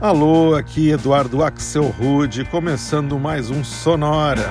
Alô, aqui Eduardo Axel Rude, começando mais um Sonora.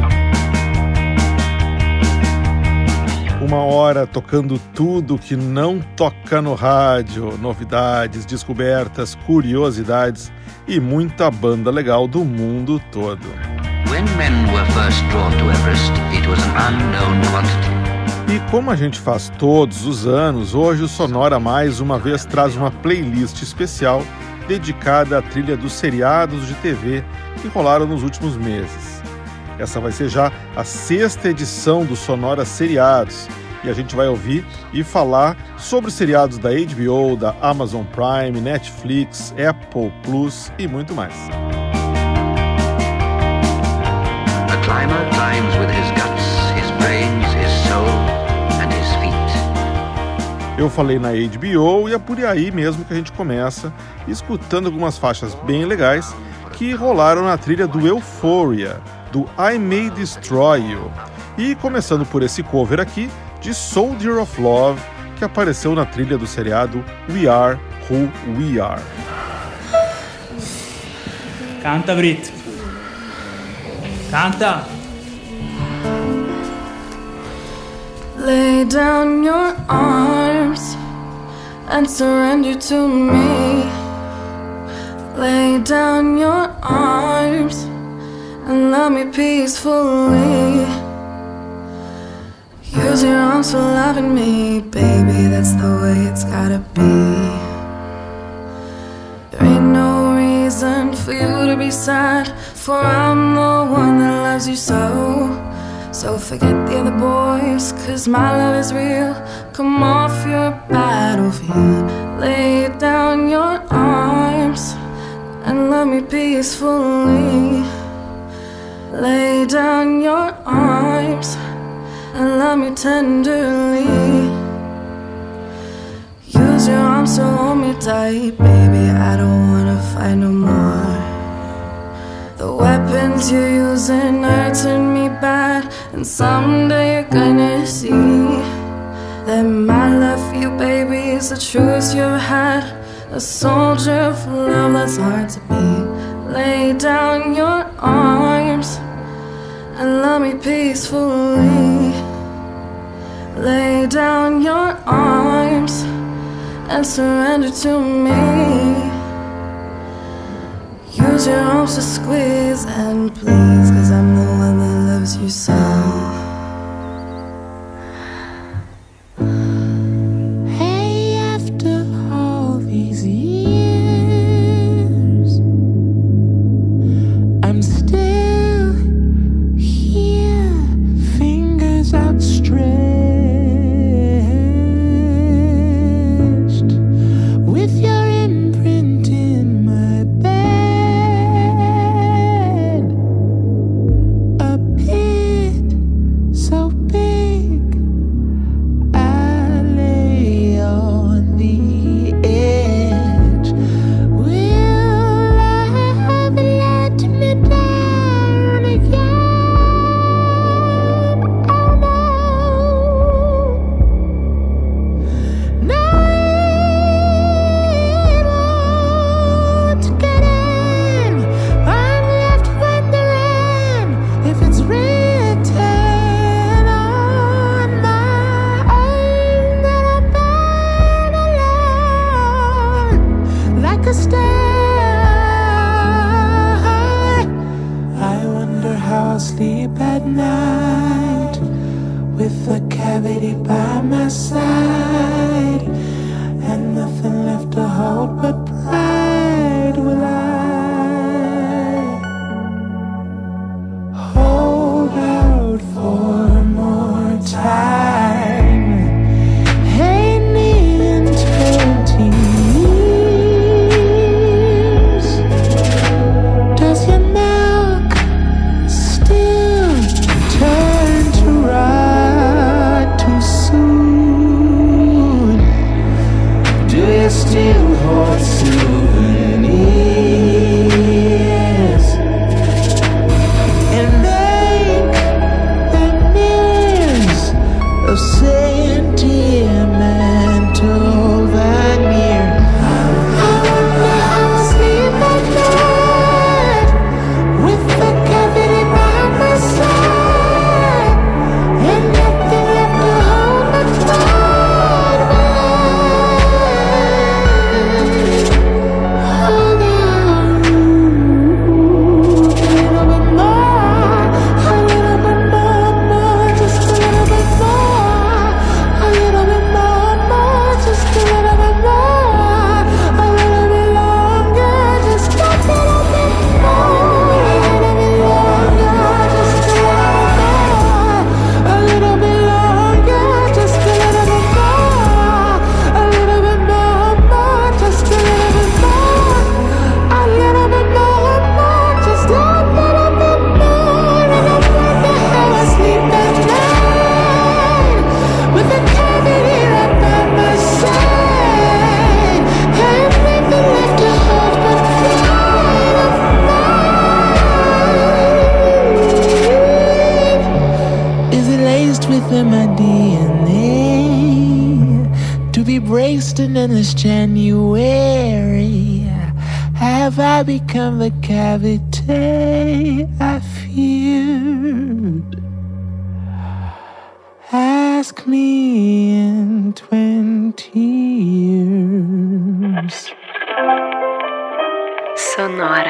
Uma hora tocando tudo que não toca no rádio, novidades, descobertas, curiosidades e muita banda legal do mundo todo. When men were first drawn to Everest, it was an unknown quantity. E como a gente faz todos os anos, hoje o Sonora mais uma vez traz uma playlist especial dedicada à trilha dos seriados de TV que rolaram nos últimos meses. Essa vai ser já a 6ª edição do Sonora Seriados, e a gente vai ouvir e falar sobre seriados da HBO, da Amazon Prime, Netflix, Apple Plus e muito mais. A climber climbs with his guts, his brains, his soul and his feet. Eu falei na HBO e é por aí mesmo que a gente começa escutando algumas faixas bem legais que rolaram na trilha do Euphoria, do I May Destroy You. E começando por esse cover aqui de Soldier of Love, que apareceu na trilha do seriado We Are Who We Are. Canta, Brito. Canta. Lay down your arms and surrender to me. Lay down your arms and love me peacefully. Use your arms for loving me, baby, that's the way it's gotta be. There ain't no reason for you to be sad, for I'm the one that loves you so. So forget the other boys, cause my love is real. Come off your battlefield. Lay down your arms and love me peacefully. Lay down your arms and love me tenderly. Use your arms to hold me tight, baby, I don't wanna fight no more. The weapons you're using are hurting me bad, and someday you're gonna see that my love for you, baby, is the truest you ever had. A soldier for love that's hard to be. Lay down your arms and love me peacefully. Lay down your arms and surrender to me. Use your arms to squeeze and please, cause I'm the one that loves you so. Hey, after all these years, I'm still here, fingers outstretched, with your imprint in my bed, a pit embraced an endless January? Have I become the cavity I feared? Ask me in 20 years. Sonora.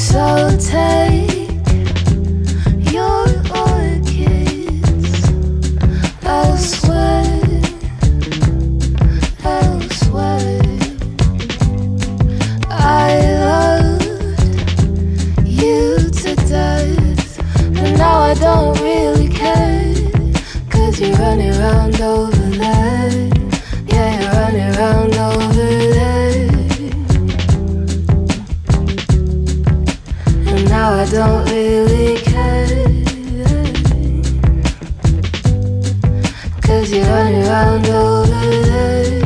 So take your orchids elsewhere, elsewhere. I loved you to death, and now I don't really care, 'cause you're running around over there. Yeah, you're running around over there. And now I don't really care, 'cause you're running around over there.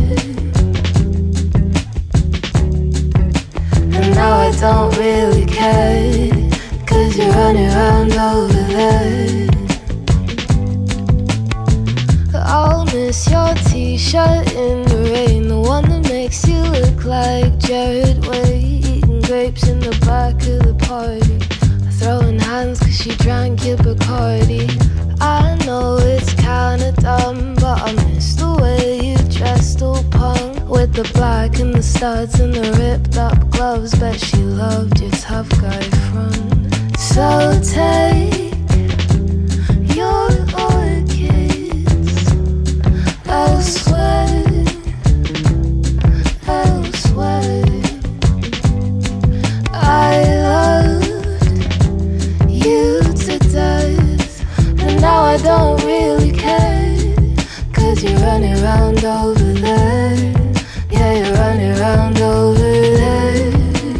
And now I don't really care, 'cause you're running around over there. I'll miss your t-shirt in the rain, the one that makes you look like Jared Way, eating grapes in the back of the party, throwing hands 'cause she drank your Bacardi. I know it's kinda dumb, but I miss the way you dressed all punk, with the black and the studs and the ripped up gloves. Bet she loved your tough guy front. So take your orchids elsewhere, elsewhere. I loved you to death, and now I don't really care, 'cause you're running around over there. Yeah, you're running around over there.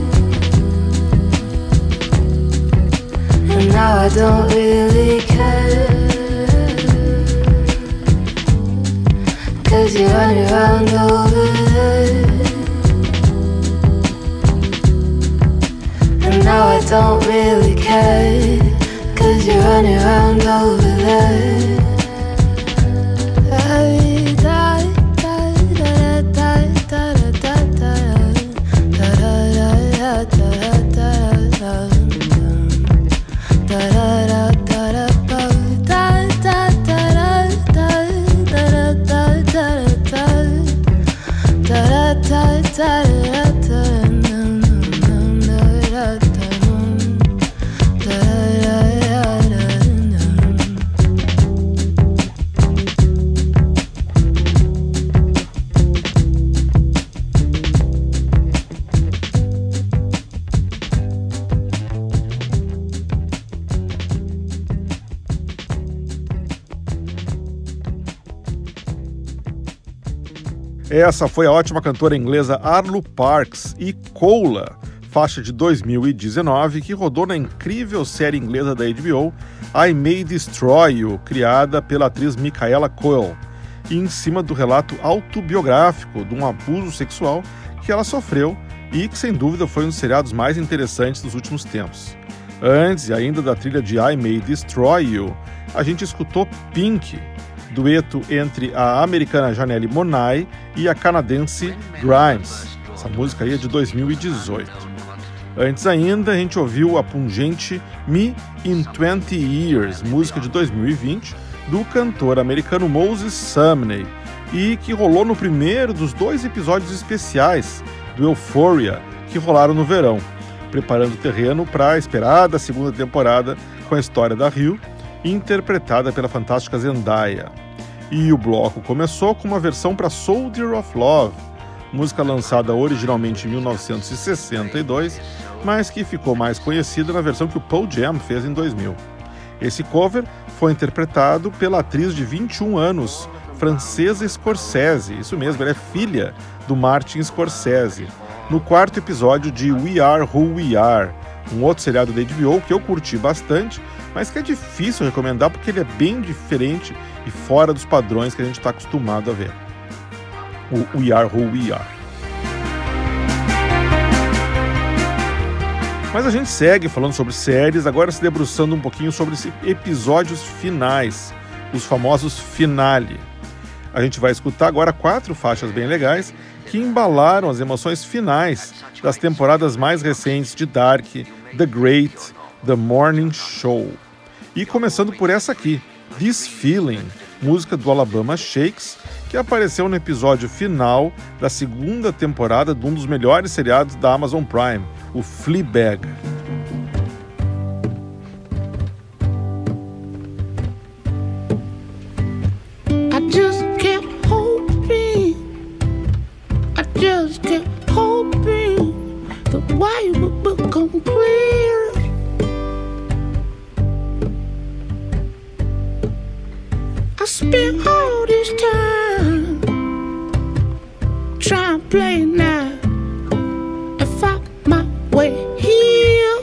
And now I don't really care, 'cause you're running around over there. And now I don't really care, 'cause you're running around over there. Essa foi a ótima cantora inglesa Arlo Parks e Cola, faixa de 2019, que rodou na incrível série inglesa da HBO I May Destroy You, criada pela atriz Michaela Coel, e em cima do relato autobiográfico de um abuso sexual que ela sofreu e que, sem dúvida, foi um dos seriados mais interessantes dos últimos tempos. Antes, ainda da trilha de I May Destroy You, a gente escutou Pink, dueto entre a americana Janelle Monáe e a canadense Grimes. Essa música aí é de 2018. Antes ainda, a gente ouviu a pungente Me in 20 Years, música de 2020, do cantor americano Moses Sumney, e que rolou no primeiro dos 2 episódios especiais do Euphoria, que rolaram no verão, preparando o terreno para a esperada segunda temporada com a história da Ryu, interpretada pela fantástica Zendaya. E o bloco começou com uma versão para Soldier of Love, música lançada originalmente em 1962, mas que ficou mais conhecida na versão que o Pearl Jam fez em 2000. Esse cover foi interpretado pela atriz de 21 anos, Francesca Scorsese, isso mesmo, ela é filha do Martin Scorsese, no 4º episódio de We Are Who We Are, um outro seriado da HBO que eu curti bastante, mas que é difícil recomendar porque ele é bem diferente e fora dos padrões que a gente está acostumado a ver. O We Are Who We Are. Mas a gente segue falando sobre séries, agora se debruçando um pouquinho sobre esses episódios finais, os famosos finale. A gente vai escutar agora 4 faixas bem legais que embalaram as emoções finais das temporadas mais recentes de Dark, The Great, The Morning Show. E começando por essa aqui, This Feeling, música do Alabama Shakes, que apareceu no episódio final da 2ª temporada de um dos melhores seriados da Amazon Prime, o Fleabag. spent all this time trying to play now and find my way here.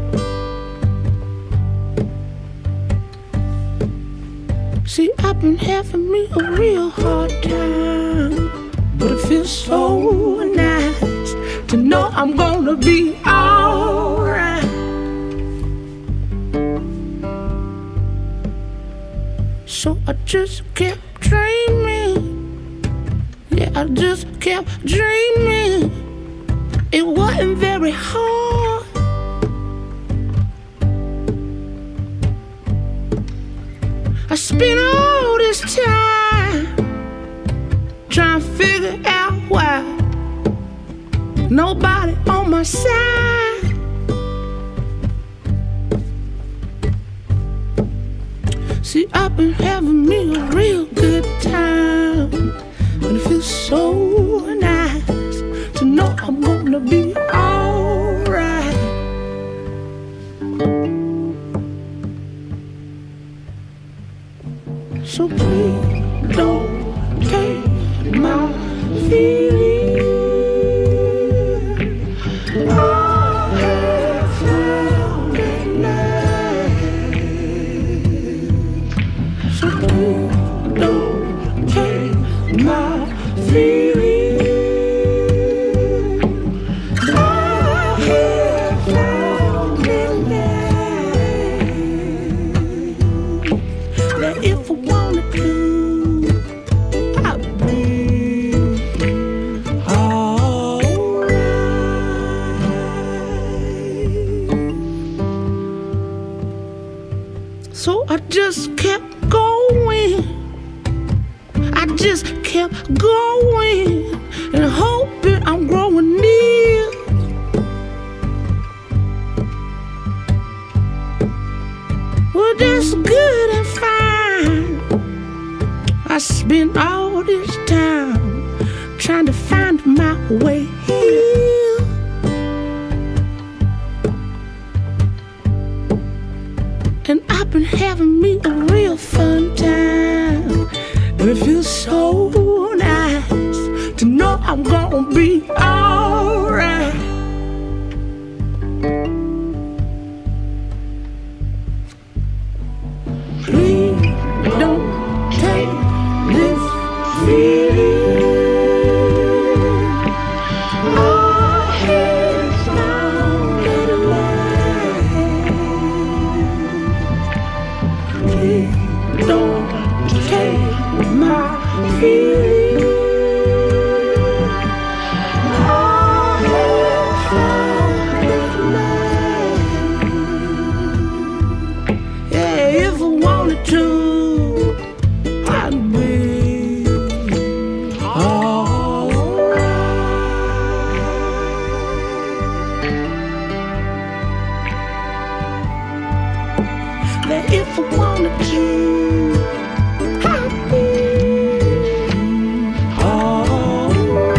See, I've been having me a real hard time, but it feels so nice to know I'm gonna be alright. So I just kept dreaming. Yeah, I just kept dreaming. It wasn't very hard. I spent all this time trying to figure out why nobody on my side. See, I've been having me a real good time, and it feels so nice to know I'm gonna be alright. So please don't take my feelings. I have found it now. So please don't take my feelings. I have found it now. That if I wanted to, I'd be alright. So I just kept going. I just kept going and hoping I'm growing near. Well, that's good and fine. I spent all this time trying to find my way here. And I've been having me a real fun time, and it feels so nice to know I'm gonna be alright. Please don't take this feeling. Our heads down in the line. Please don't take my feeling. Our heads down in the line. Yeah, if I wanted to, I'd be alright. That if I wanted to, I'd be alright.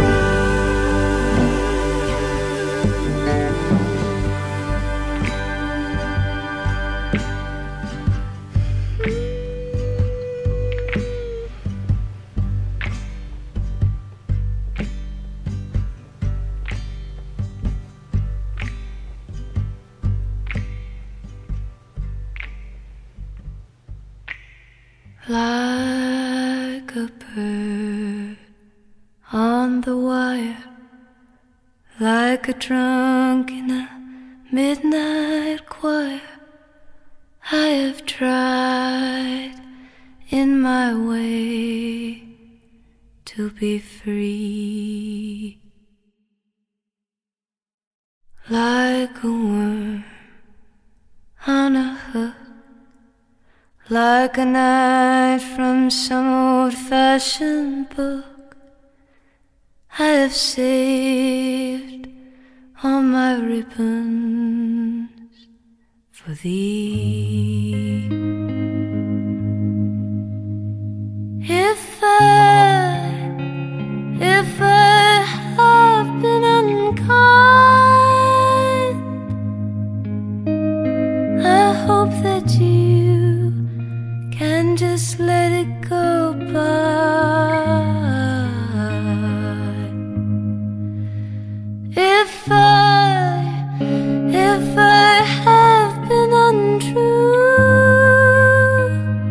Like a bird on the wire, like a drunk in a midnight choir, I have tried in my way to be free. Like a worm on a hook, like a knife from some old-fashioned book, I have saved all my ribbons for thee. If I have been unkind, I hope that you can just let it go. If I have been untrue,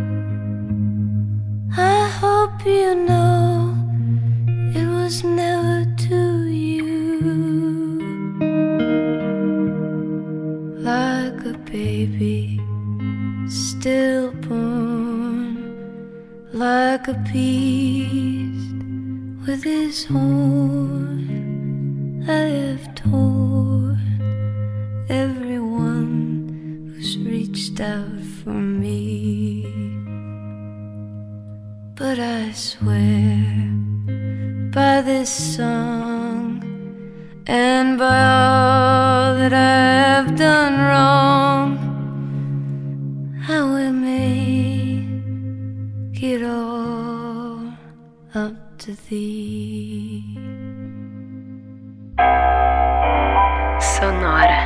I hope you know it was never to you. Like a baby stillborn, like a beast with his horn, I have torn everyone who's reached out for me. But I swear by this song and by all that I have done wrong, I will make it all up to thee. Sonora.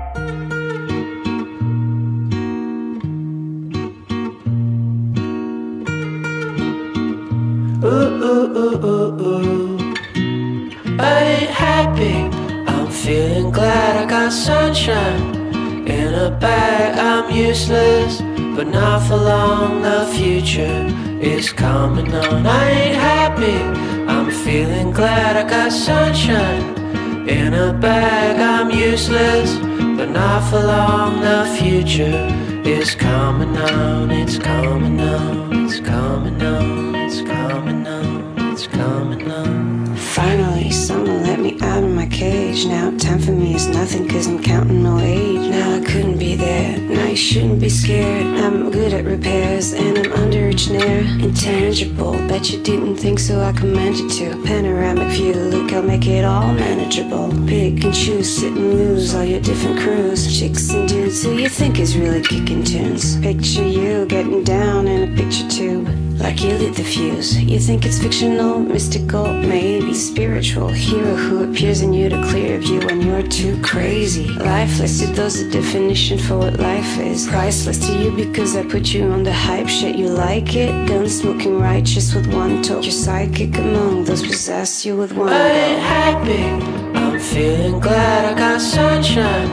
I ain't happy, I'm feeling glad I got sunshine in a bag. I'm useless, but not for long. The future is coming on. I ain't happy, I'm feeling glad I got sunshine in a bag. I'm useless, but not for long. The future is coming on. It's coming on. It's coming on. It's coming on. It's coming on. Finally, someone let me out of my cage. Now time for me is nothing, cause I'm counting no age. Now I couldn't be there, now you shouldn't be scared. I'm good at repairs, and I'm under each near. Intangible, bet you didn't think so, I commend you to. Panoramic view, look, I'll make it all manageable. Pick and choose, sit and lose all your different crews. Chicks and dudes who you think is really kicking tunes. Picture you getting down in a picture tube, like you lit the fuse. You think it's fictional, mystical, maybe spiritual. Hero who appears in you to clear view when you're too crazy. Lifeless to those, the definition for what life is. Priceless to you because I put you on the hype shit. You like it? Gun smoking righteous with one toe. You're psychic among those possess you with one go. I ain't happy, I'm feeling glad I got sunshine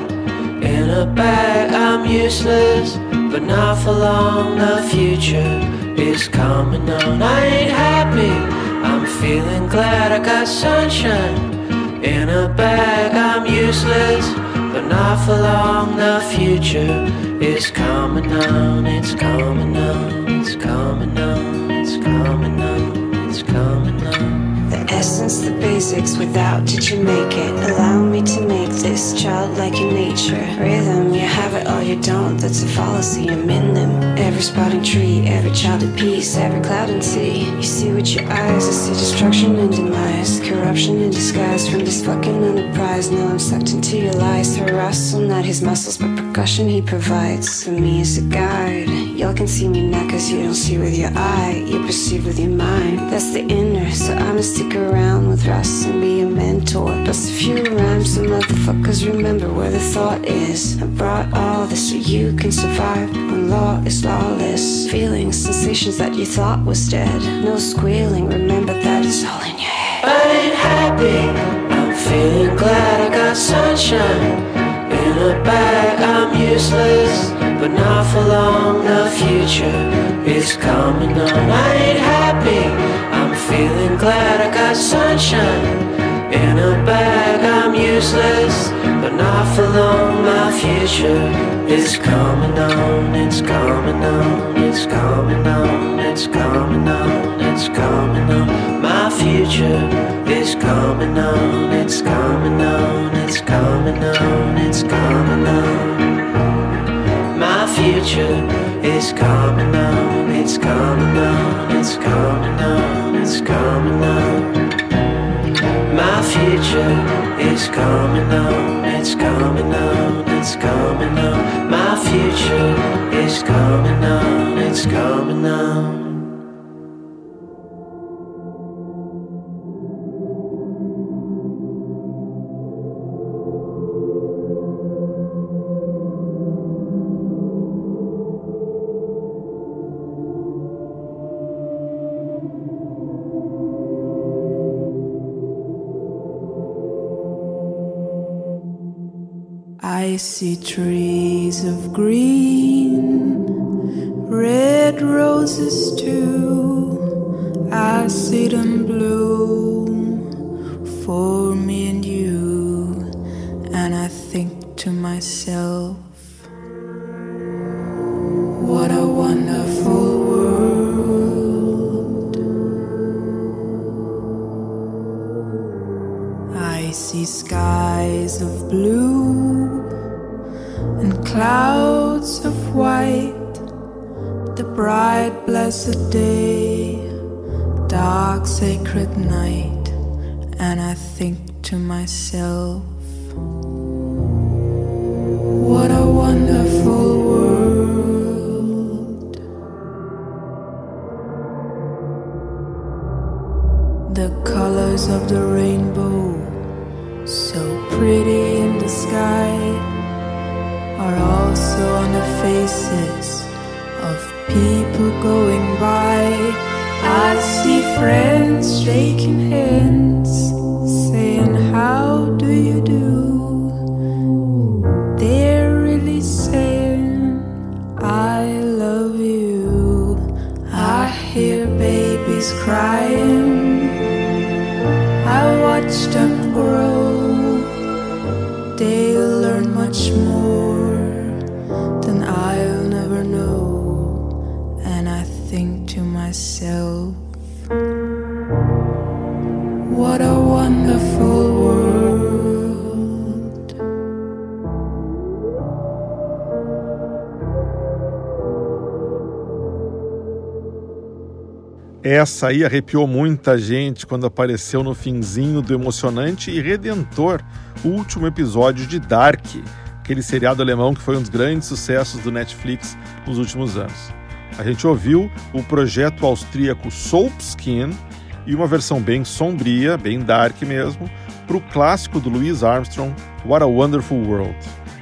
in a bag. I'm useless, but not for long. The future is coming on. I ain't happy, I'm feeling glad I got sunshine in a bag. I'm useless, but not for long. The future is coming on. It's coming on. It's coming on. It's coming on. It's coming on. The essence, the basics, without did you make it? Allow me to make this childlike in nature. Rhythm, you have it or you don't, that's a fallacy, I'm in them. Every sprouting tree, every child at peace, every cloud and sea. You see with your eyes, I see destruction and demise. Corruption in disguise from this fucking enterprise. Now I'm sucked into your lies through Russell, not his muscles but percussion he provides. For me as a guide, y'all can see me now cause you don't see with your eye, you perceive with your mind. That's the inner, so I'ma stick around with Russ and be a mentor. Plus a few rhymes so motherfuckers remember where the thought is. I brought all this so you can survive when law is lawless. Feelings, sensations that you thought was dead. No squealing, remember that it's all in your head. I ain't happy, I'm feeling glad I got sunshine in a bag. I'm useless, but not for long. The future is coming on. I ain't happy, I'm feeling glad I got sunshine in a bag. I'm useless, but not for long. My future is coming on. It's coming on. It's coming on. It's coming on. It's coming on. My future is coming on. It's coming on. It's coming on. It's coming on. My future is coming on. It's coming on. It's coming on. It's coming on. My future is coming on. It's coming on. It's coming on. My future is coming on. It's coming on. see trees of green, red roses too. I see them bloom for me and you, and I think to myself, what a wonderful world. I see skies of blue and clouds of white, the bright blessed day, dark sacred night, and I think to myself, what a wonderful world. The colors of the rainbow, so pretty in the sky, are also on the faces of people going by. I see friends shaking hands, saying, how do you do? They're really saying, I love you. I hear babies crying, I watch them grow. They'll learn much more than I'll never know. And I think to myself, what a wonderful world. Essa aí arrepiou muita gente quando apareceu no finzinho do emocionante e redentor último episódio de Dark, aquele seriado alemão que foi um dos grandes sucessos do Netflix nos últimos anos. A gente ouviu o projeto austríaco Soapskin e uma versão bem sombria, bem dark mesmo, para o clássico do Louis Armstrong, What a Wonderful World.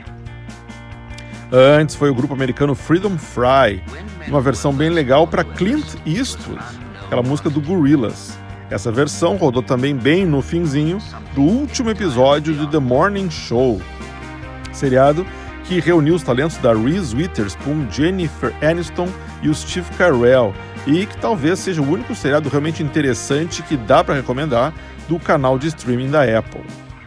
Antes foi o grupo americano Freedom Fry, uma versão bem legal para Clint Eastwood, aquela música do Gorillaz. Essa versão rodou também bem no finzinho do último episódio de The Morning Show, seriado que reuniu os talentos da Reese Witherspoon, Jennifer Aniston e o Steve Carell, e que talvez seja o único seriado realmente interessante que dá para recomendar do canal de streaming da Apple.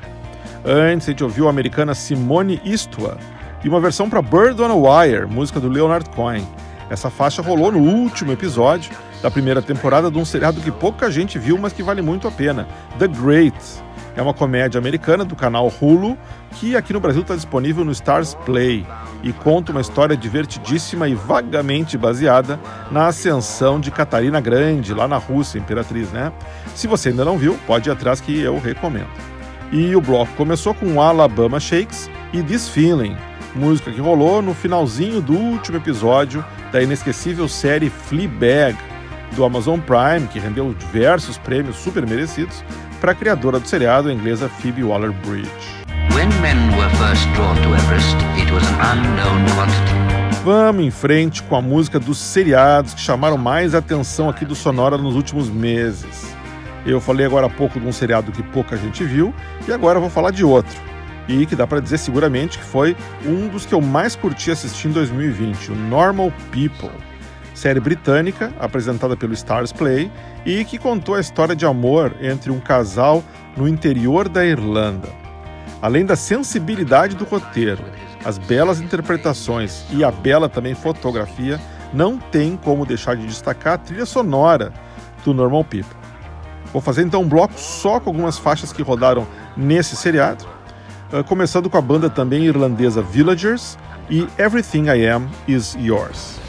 Antes a gente ouviu a americana Simone Eastwood e uma versão para Bird on a Wire, música do Leonard Cohen. Essa faixa rolou no último episódio da primeira temporada de um seriado que pouca gente viu, mas que vale muito a pena, The Great. É uma comédia americana do canal Hulu, que aqui no Brasil está disponível no Stars Play e conta uma história divertidíssima e vagamente baseada na ascensão de Catarina Grande, lá na Rússia, imperatriz, né? Se você ainda não viu, pode ir atrás que eu recomendo. E o bloco começou com Alabama Shakes e This Feeling, música que rolou no finalzinho do último episódio da inesquecível série Fleabag, do Amazon Prime, que rendeu diversos prêmios super merecidos para a criadora do seriado, a inglesa Phoebe Waller-Bridge. When men were first drawn to Everest, it was an unknown quantity. Vamos em frente com a música dos seriados que chamaram mais atenção aqui do Sonora nos últimos meses. Eu falei agora há pouco de um seriado que pouca gente viu e agora vou falar de outro. E que dá para dizer seguramente que foi um dos que eu mais curti assistir em 2020, o Normal People. Série britânica, apresentada pelo Stars Play, e que contou a história de amor entre um casal no interior da Irlanda. Além da sensibilidade do roteiro, as belas interpretações e a bela também fotografia, não tem como deixar de destacar a trilha sonora do Normal People. Vou fazer então um bloco só com algumas faixas que rodaram nesse seriado, começando com a banda também irlandesa Villagers e Everything I Am Is Yours.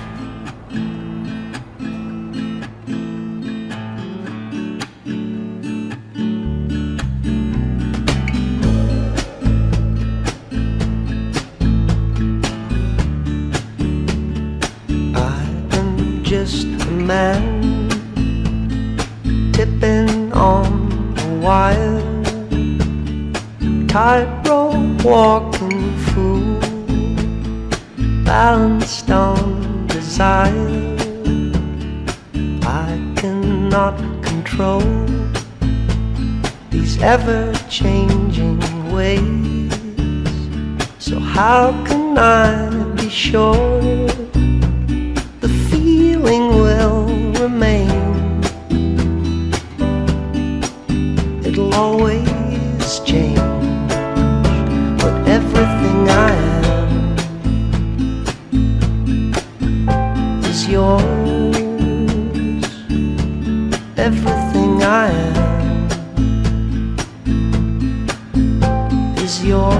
Just a man tipping on a wire, tightrope walking fool, balanced on desire. I cannot control these ever-changing ways, so So how can I be sure the feeling will remain? It'll always change, but everything I am is yours. Everything I am is yours.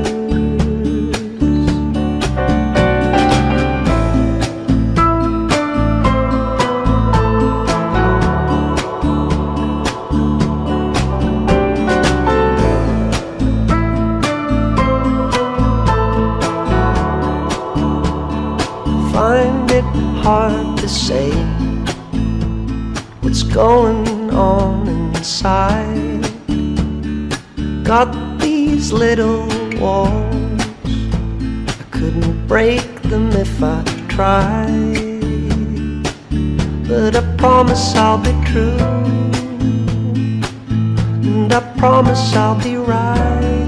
Find it hard to say what's going on inside. Got these little walls, I couldn't break them if I tried, but I promise I'll be true, and I promise I'll be right.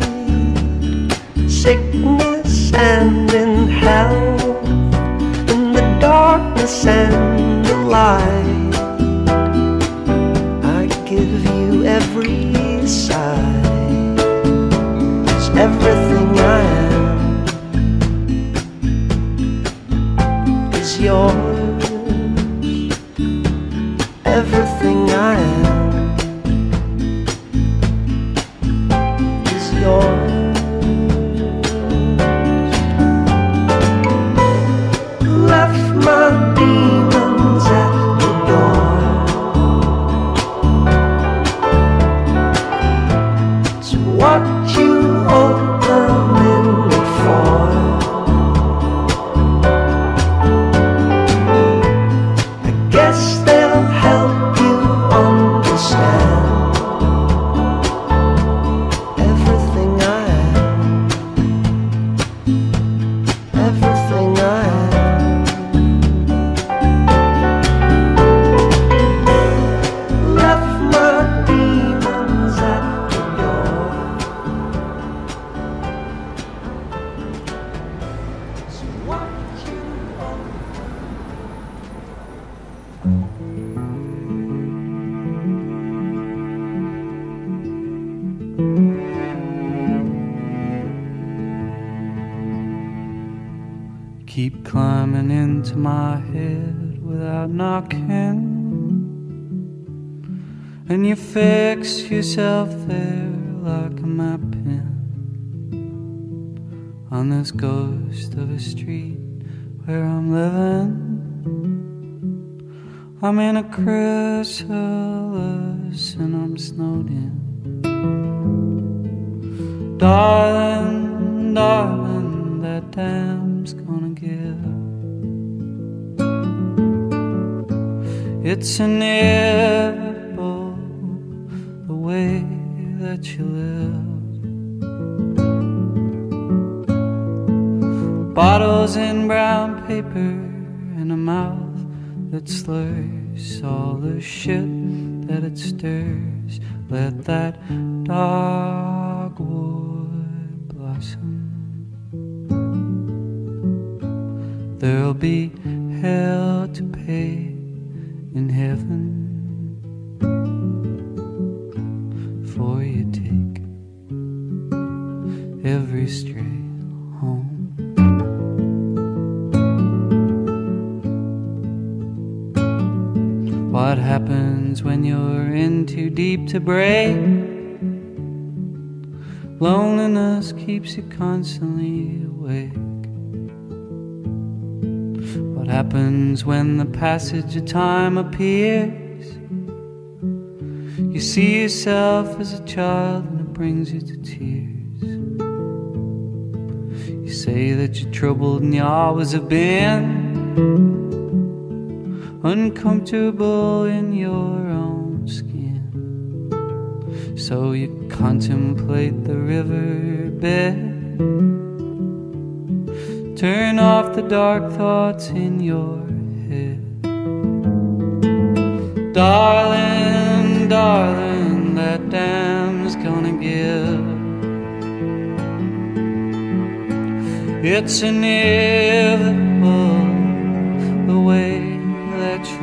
Sickness and in health, in the darkness and the light, I give you every side. 'Cause everything I am is yours. Everything I am is yours. Left my demons at the door, so what you opening it for? I guess they'll help you understand. Everything I am, everything I am. Left my demons at the door, so what you Keep climbing into my head without knocking, and you fix yourself there like a map pin on this ghost of a street where I'm living. I'm in a chrysalis and I'm snowed in. Darling, darling, that dam's gonna give. It's inevitable, the way that you live. Bottles in brown paper and a mouth that slurs all the shit that it stirs. Let that dogwood blossom. There'll be hell to pay in heaven for you take every stray home. What happens when you're in too deep to break? Loneliness keeps you constantly awake. What happens when the passage of time appears? You see yourself as a child and it brings you to tears. You say that you're troubled and you always have been uncomfortable in your own skin. So you contemplate the riverbed, turn off the dark thoughts in your head. Darling, darling, that dam's gonna give. It's inevitable the way that you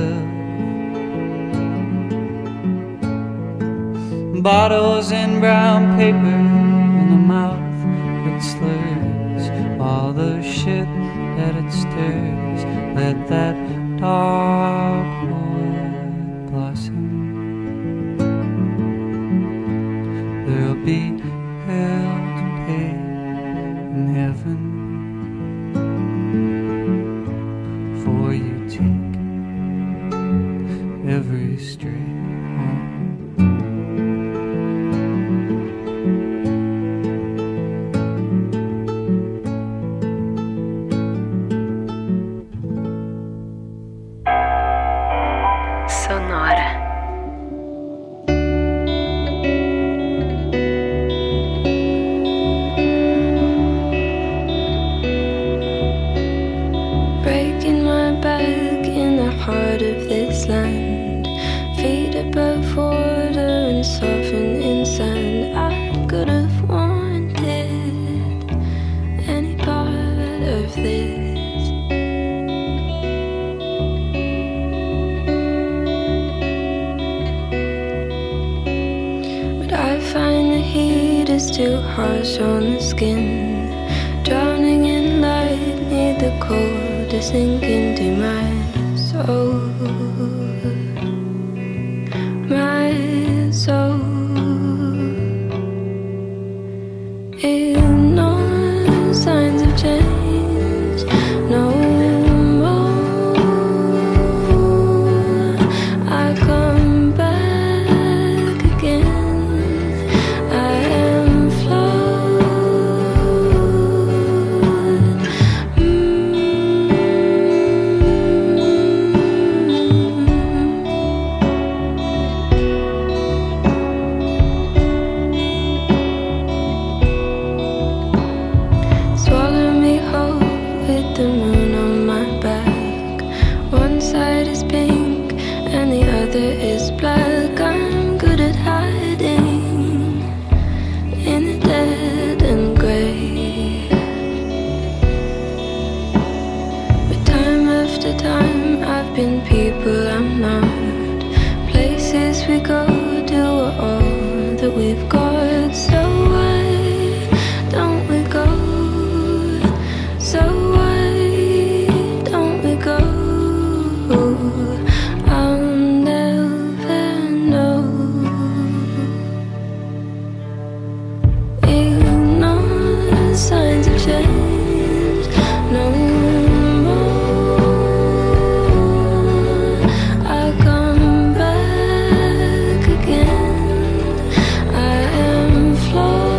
live. Bottles and brown paper in the mouth that slurs all the shit that it stirs. Let that dark wood blossom. There'll be hell to pay in heaven for you take every straight home. Sonora. Breaking my back in the heart of this land, feet above water and soften in sand. I could have wanted any part of this. But I find the heat is too harsh on the skin, drowning in light, need the cold to sink into my soul, my soul. Ignore signs of change, no more. I come back again, I am flawed. Swallow me whole with the moon on my back. One side is pink and the other is black. I'm good at hiding in the dead and grey. But time after time I've been people I'm not. Places we go do all that we've got. So why don't we go? So why don't we go? I'll never know. Ignore signs of change, no more. I'll come back again, I am flawed.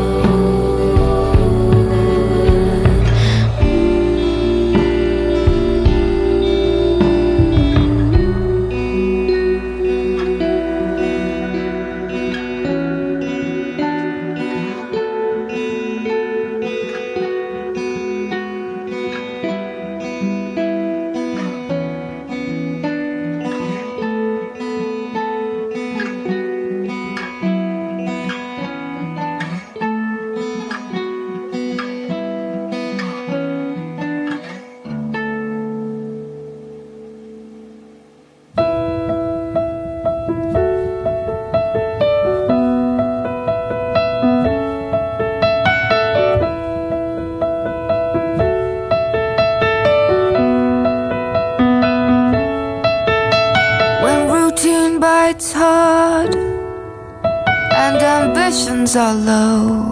When routine bites hard and ambitions are low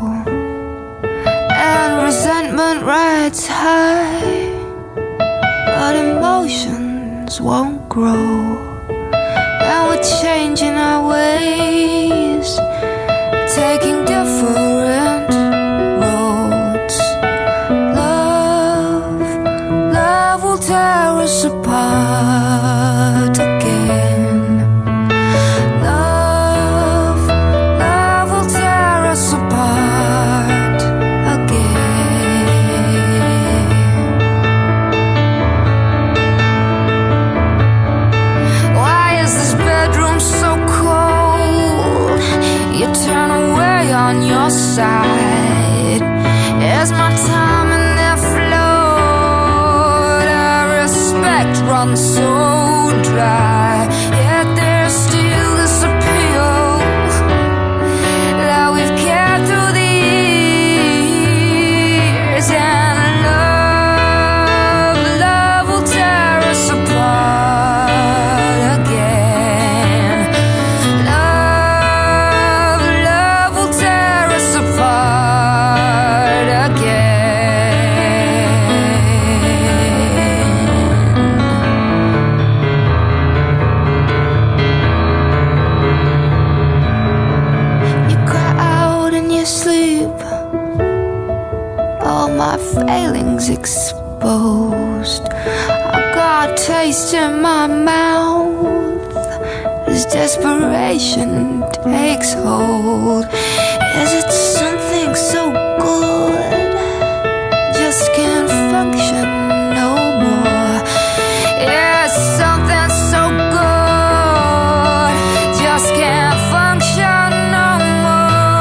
and resentment rides high, but emotions won't grow, and we're changing our ways, taking different roads. Love will tear us apart again. Love will tear us apart again. Why is this bedroom so cold? You turn away on your side. Is my time enough run so dry. Yet there's still this appeal that we've kept through the years. And love will tear us apart again. Love will tear us apart again. My failings exposed, I got a taste in my mouth as desperation takes hold. Is it something so good just can't function no more? Yes, something so good just can't function no more.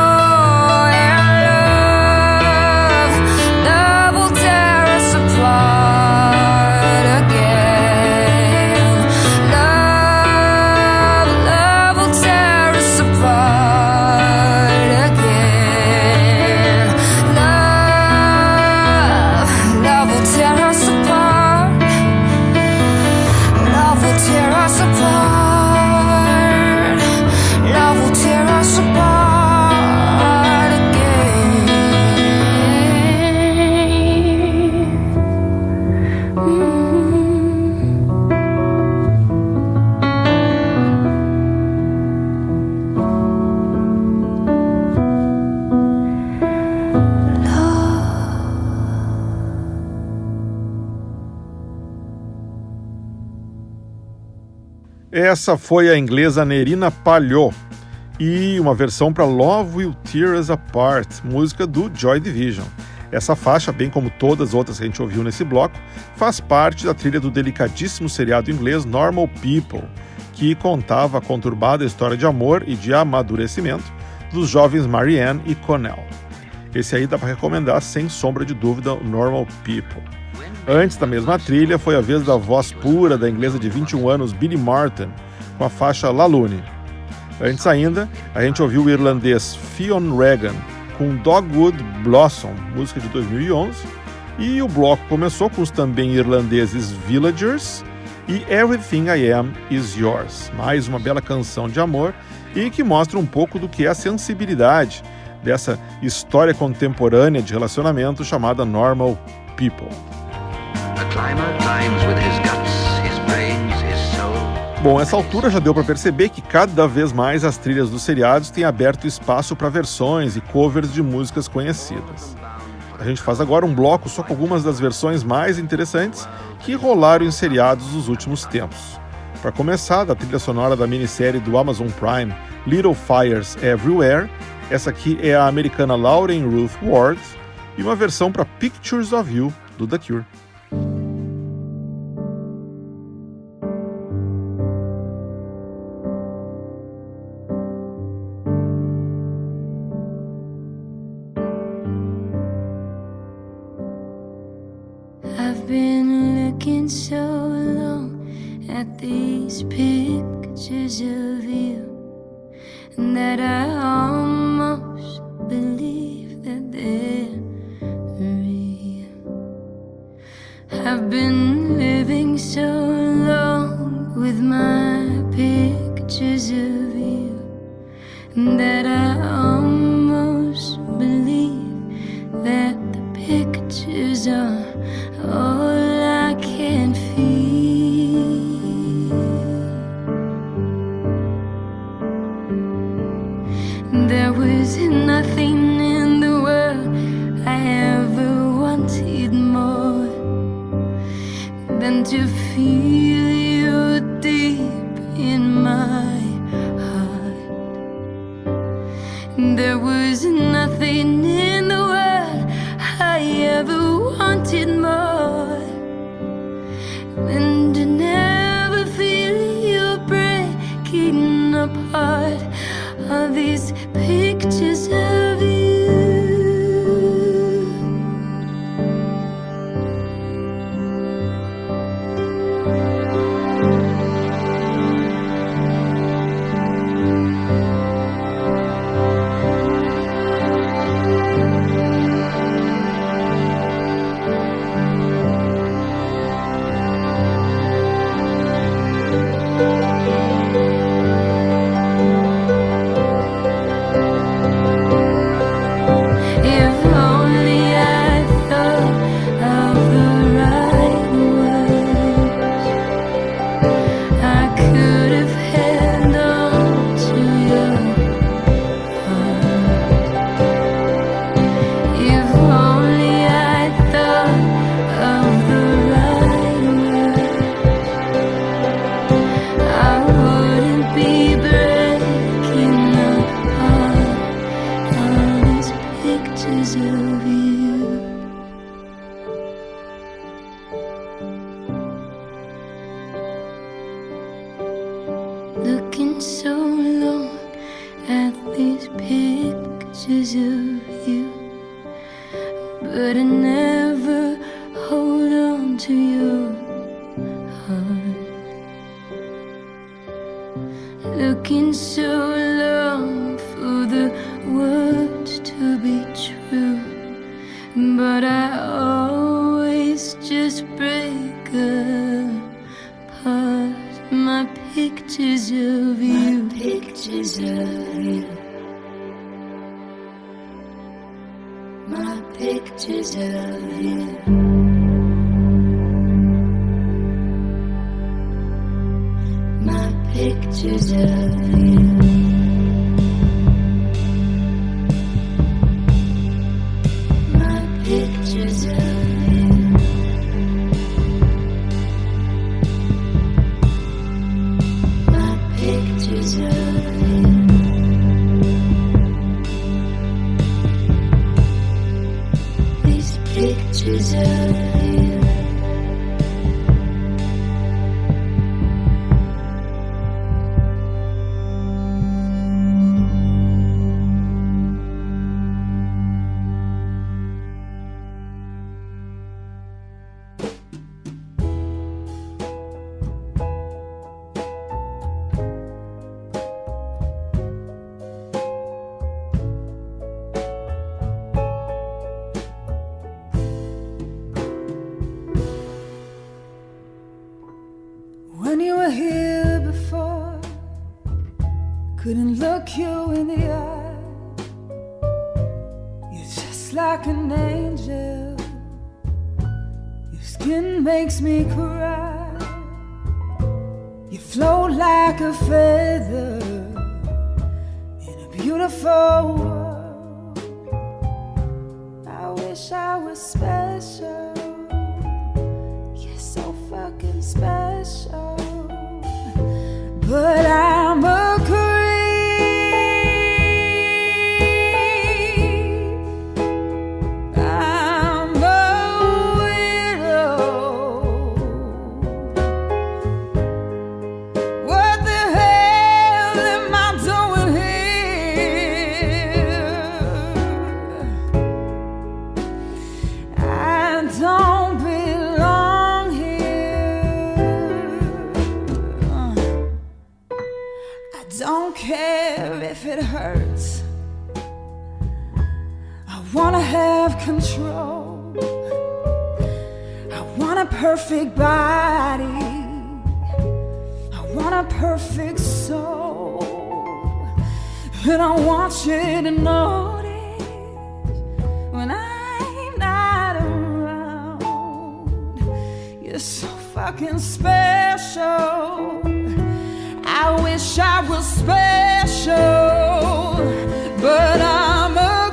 Essa foi a inglesa Nerina Palhot e uma versão para Love Will Tear Us Apart, música do Joy Division. Essa faixa, bem como todas as outras que a gente ouviu nesse bloco, faz parte da trilha do delicadíssimo seriado inglês Normal People, que contava a conturbada história de amor e de amadurecimento dos jovens Marianne e Connell. Esse aí dá para recomendar sem sombra de dúvida, Normal People. Antes da mesma trilha, foi a vez da voz pura da inglesa de 21 anos Billy Martin, com a faixa La Lune. Antes ainda, a gente ouviu o irlandês Fionn Regan com Dogwood Blossom, música de 2011, e o bloco começou com os também irlandeses Villagers e Everything I Am Is Yours, mais uma bela canção de amor e que mostra um pouco do que é a sensibilidade dessa história contemporânea de relacionamento chamada Normal People. Bom, essa altura já deu para perceber que cada vez mais as trilhas dos seriados têm aberto espaço para versões e covers de músicas conhecidas. A gente faz agora um bloco só com algumas das versões mais interessantes que rolaram em seriados dos últimos tempos. Para começar, da trilha sonora da minissérie do Amazon Prime Little Fires Everywhere, essa aqui é a americana Lauren Ruth Ward e uma versão para Pictures of You do The Cure. I've been looking so long at these pictures of you that I almost believe that they're real. I've been living so long with my pictures of you that I almost believe that the pictures are all I can feel. There was nothing in the world I ever wanted more than to feel you deep in my heart. There was nothing in the world I ever wanted more than to never feel you breaking apart all these pictures of you. so long at these pictures of you, but I never hold on to your heart. Looking so long for the words to be true, but I always just break apart. My pictures of you, my pictures of you, my pictures of you. My pictures of you. My pictures of you. My pictures of you. These pictures of you. When you were here before, couldn't look you in the eye. You're just like an angel. Your skin makes me cry. You float like a feather in a beautiful world. I wish I was special. You're so fucking special. But I'm a creep. I'm a widow. What the hell am I doing here? I don't belong here. I don't care if it hurts. I wanna have control. I want a perfect body. I want a perfect soul. And I want you to notice when I'm not around. You're so fucking special. I wish I was special, but I'm a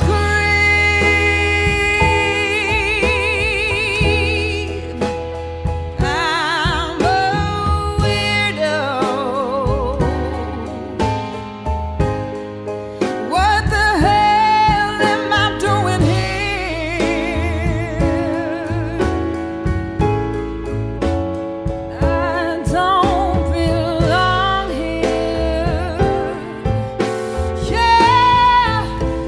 creep. I'm a weirdo. What the hell am I doing here? I don't belong here. Yeah.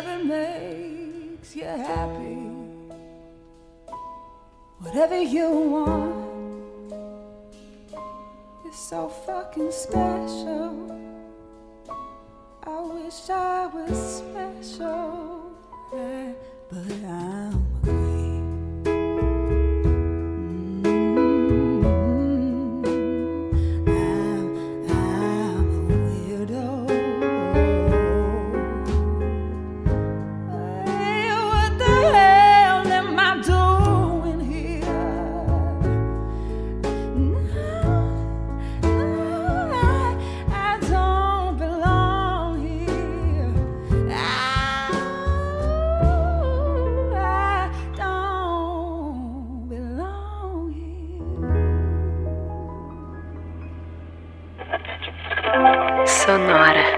whatever makes you happy, whatever you want. You're so fucking special. I wish I was special, but I'm a queen. I'm a weirdo. Hey, what the hell am I doing here? I don't belong here. I don't belong here. Sonora.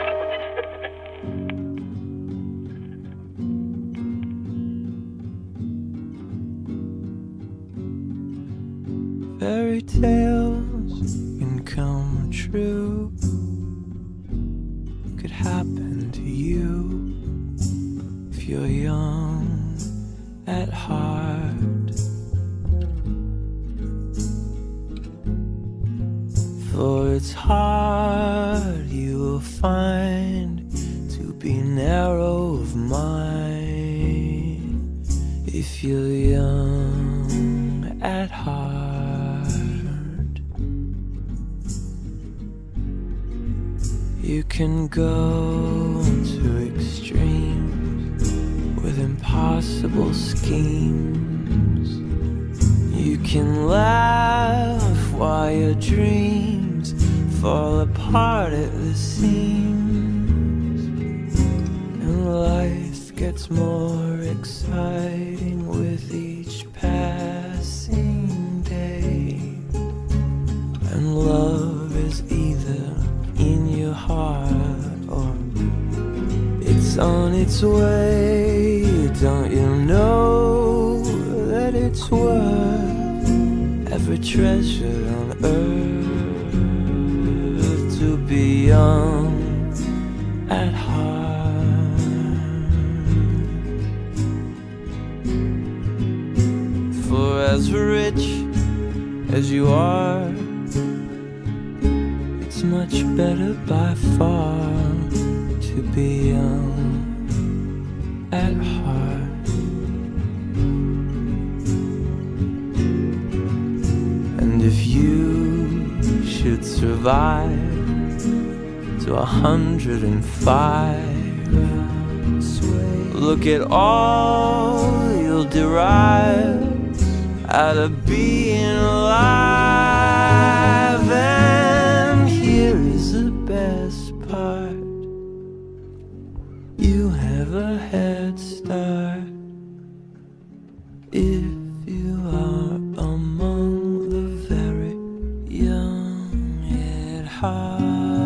Fairy tales can come true, could happen to you if you're young at heart. For it's hard, you will find, to be narrow of mind if you're young at heart. You can go to extremes with impossible schemes. You can laugh while your dreams fall apart at the seams, and life gets more exciting with each passing day, and love is either in your heart or it's on its way. Don't you know that it's worth every treasure on earth to be young at heart? For as rich as you are, it's much better by far to be young at heart. And if you should survive to 105, look at all you'll derive out of being alive. And here is the best part: you have a head start if you are among the very young at heart.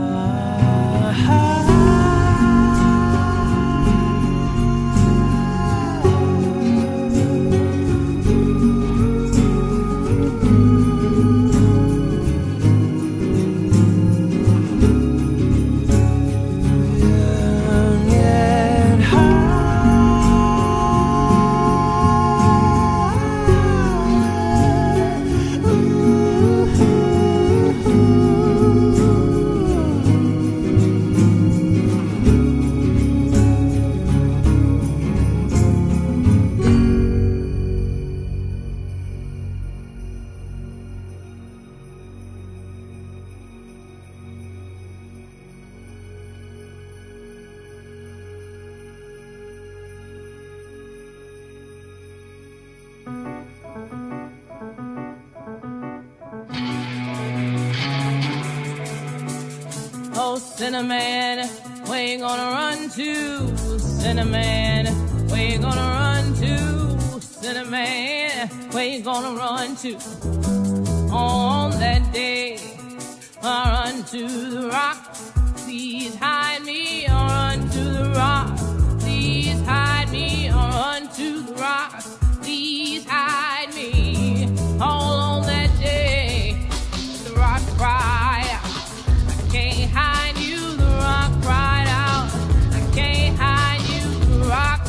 Oh, Cinnamon, where you gonna run to? Cinnamon, where you gonna run to? Cinnamon, where you gonna run to? On that day, I run to the rock. Please hide me, or run to the rock. Please hide me, or run to the rock. Please hide me. All on that day, the rock cried out. I can't hide you, the rock cried out. I can't hide you, the rock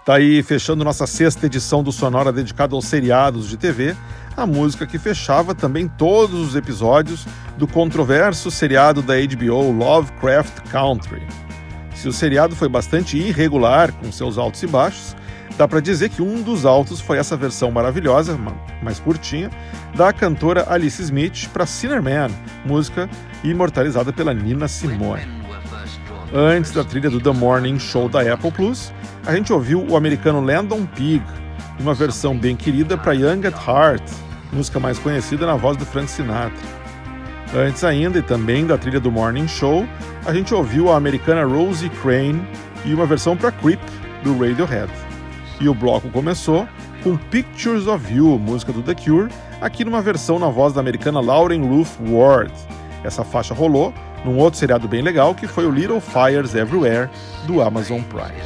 Tá aí, fechando nossa 6ª edição do Sonora dedicado aos seriados de TV, a música que fechava também todos os episódios do controverso seriado da HBO Lovecraft Country. Se o seriado foi bastante irregular, com seus altos e baixos, dá para dizer que um dos altos foi essa versão maravilhosa, mais curtinha, da cantora Alice Smith para Sinner Man, música imortalizada pela Nina Simone. Antes da trilha do The Morning Show da Apple Plus, a gente ouviu o americano Landon Pig, uma versão bem querida para Young at Heart, música mais conhecida na voz do Frank Sinatra. Antes ainda, e também da trilha do Morning Show, a gente ouviu a americana Rosie Crane e uma versão para Creep, do Radiohead. E o bloco começou com Pictures of You, música do The Cure, aqui numa versão na voz da americana Lauren Ruth Ward. Essa faixa rolou num outro seriado bem legal, que foi o Little Fires Everywhere, do Amazon Prime.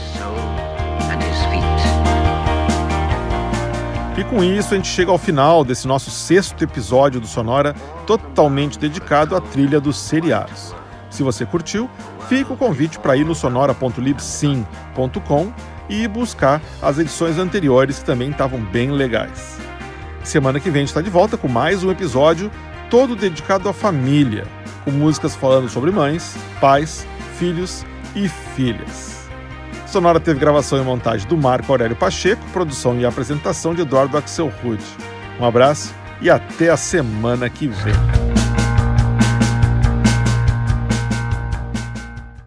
E com isso a gente chega ao final desse nosso 6º episódio do Sonora, totalmente dedicado à trilha dos seriados. Se você curtiu, fica o convite para ir no sonora.libsyn.com e buscar as edições anteriores que também estavam bem legais. Semana que vem a gente está de volta com mais um episódio, todo dedicado à família, com músicas falando sobre mães, pais, filhos e filhas. Sonora teve gravação e montagem do Marco Aurélio Pacheco, produção e apresentação de Eduardo Axelrod. Um abraço e até a semana que vem.